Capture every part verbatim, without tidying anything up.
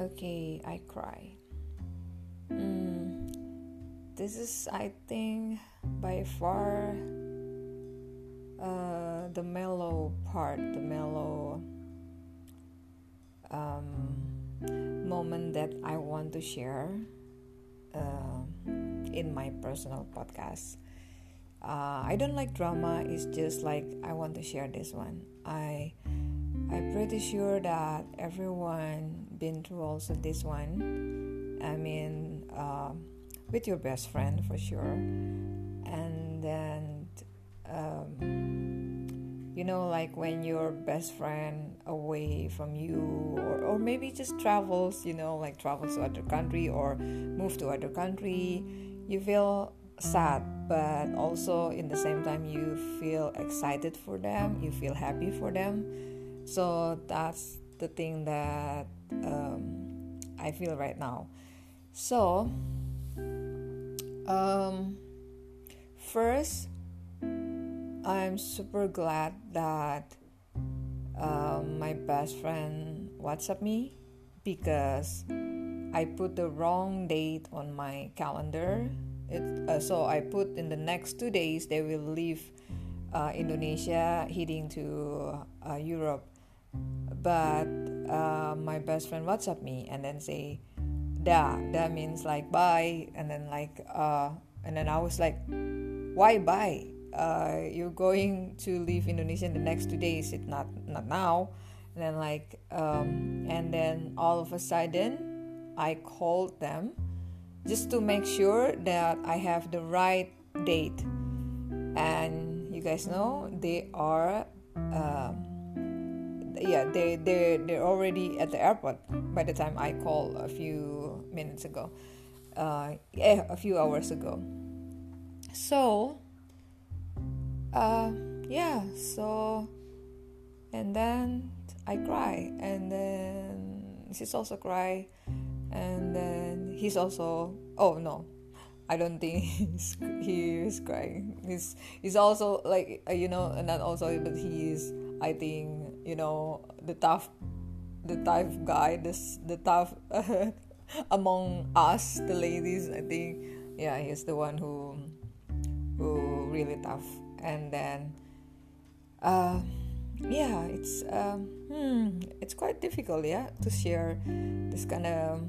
Okay, I cry. Mm, this is, I think, by far uh, the mellow part, the mellow um, moment that I want to share uh, in my personal podcast. Uh, I don't like drama. It's just like I want to share this one. I I'm pretty sure that everyone been through also this one. I mean, uh, with your best friend for sure, and then um, you know, like when your best friend away from you, or or maybe just travels, you know, like travels to other country or move to other country, you feel sad, but also in the same time you feel excited for them, you feel happy for them. So that's the thing that um, I feel right now. So um, first, I'm super glad that um, my best friend WhatsApp me, because I put the wrong date on my calendar. It, uh, so I put in the next two days they will leave uh, Indonesia, heading to uh, Europe. But uh, my best friend WhatsApp me and then say, "Da," that means like bye, and then like uh, and then I was like, "Why bye? Uh, you're going to leave Indonesia in the next two days. It's not not now." And then like um, and then all of a sudden, I called them just to make sure that I have the right date. And you guys know they are. Uh, yeah they they they're already at the airport by the time I called a few minutes ago, uh yeah a few hours ago. So uh yeah so and then I cry, and then she's also cry, and then he's also, oh no, I don't think he's he is crying. He's he's also like uh, you know not also, but he is, I think, you know, the tough, the tough guy, this the tough uh, among us, the ladies. I think, yeah, he's the one who who really tough. And then, uh, yeah, it's um, hmm, it's quite difficult, yeah, to share this kind of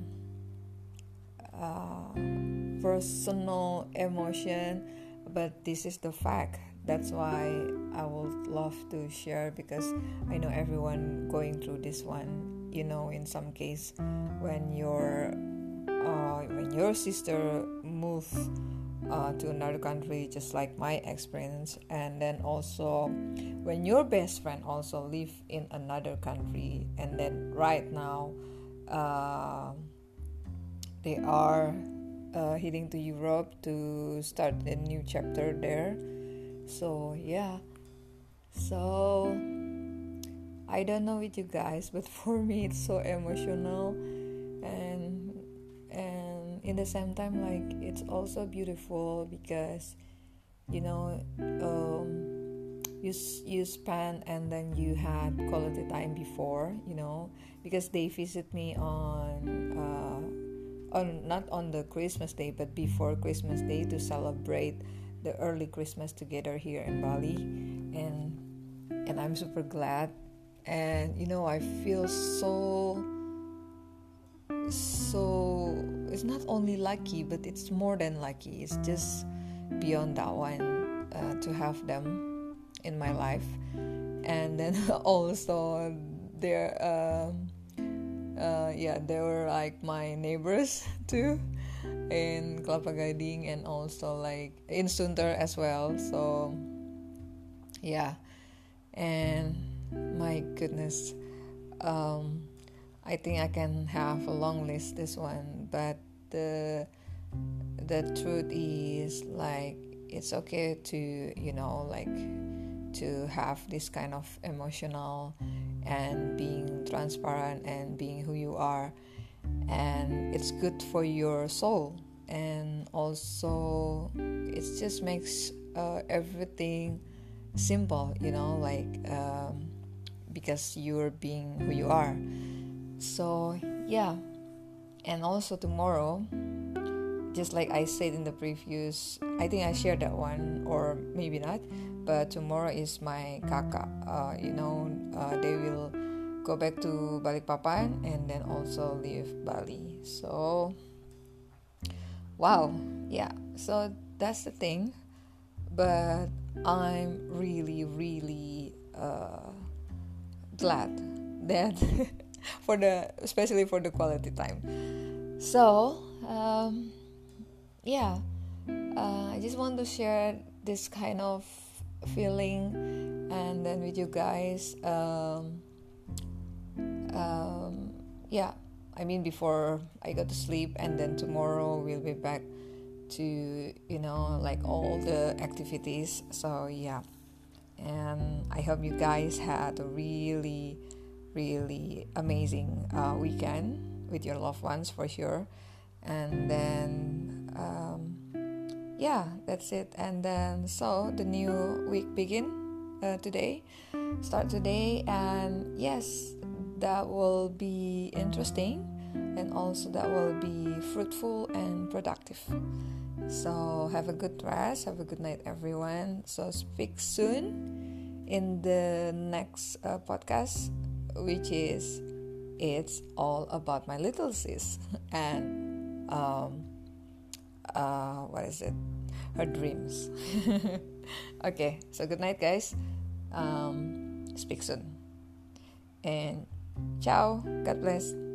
uh, personal emotion, but this is the fact. That's why I would love to share, because I know everyone going through this one. You know, in some case, when your uh, when your sister move uh, to another country, just like my experience, and then also when your best friend also live in another country, and then right now uh, they are uh, heading to Europe to start a new chapter there. So yeah, so I don't know with you guys, but for me it's so emotional, and and in the same time, like, it's also beautiful, because you know um, you you spend and then you had quality time before, you know, because they visit me on uh, on not on the Christmas day, but before Christmas day, to celebrate the early Christmas together here in Bali. and and I'm super glad, and you know I feel so so it's not only lucky, but it's more than lucky. It's just beyond that one, uh, to have them in my life. And then also they're um, uh, yeah they were like my neighbors too, in Kelapa Gading, and also like in Sunter as well. So yeah, and my goodness, um, I think I can have a long list this one, but the the truth is, like, it's okay to, you know, like, to have this kind of emotional and being transparent and being who you are, and it's good for your soul. And also it just makes uh, everything simple, you know, like um, because you're being who you are. So yeah, And also tomorrow, just like I said in the previous, I think I shared that one, or maybe not, but tomorrow is my kakak. Uh, you know, uh, they will go back to Balikpapan and then also leave Bali. So, wow, yeah. So that's the thing. But I'm really, really uh, glad that for the, especially for the quality time. So, um, yeah, uh, I just want to share this kind of feeling and then with you guys. Um, um, yeah, I mean before I go to sleep, and then tomorrow we'll be back to, you know, like all the activities. So yeah, and I hope you guys had a really, really amazing uh, weekend with your loved ones for sure. And then um, yeah, that's it. And then so the new week begin uh, today, start today, and yes, that will be interesting, and also that will be fruitful and productive. So have a good rest, have a good night, everyone. So speak soon in the next uh, podcast, which is it's all about my little sis and um, uh, what is it? Her dreams. Okay, so good night, guys. Um, speak soon, and ciao. God bless.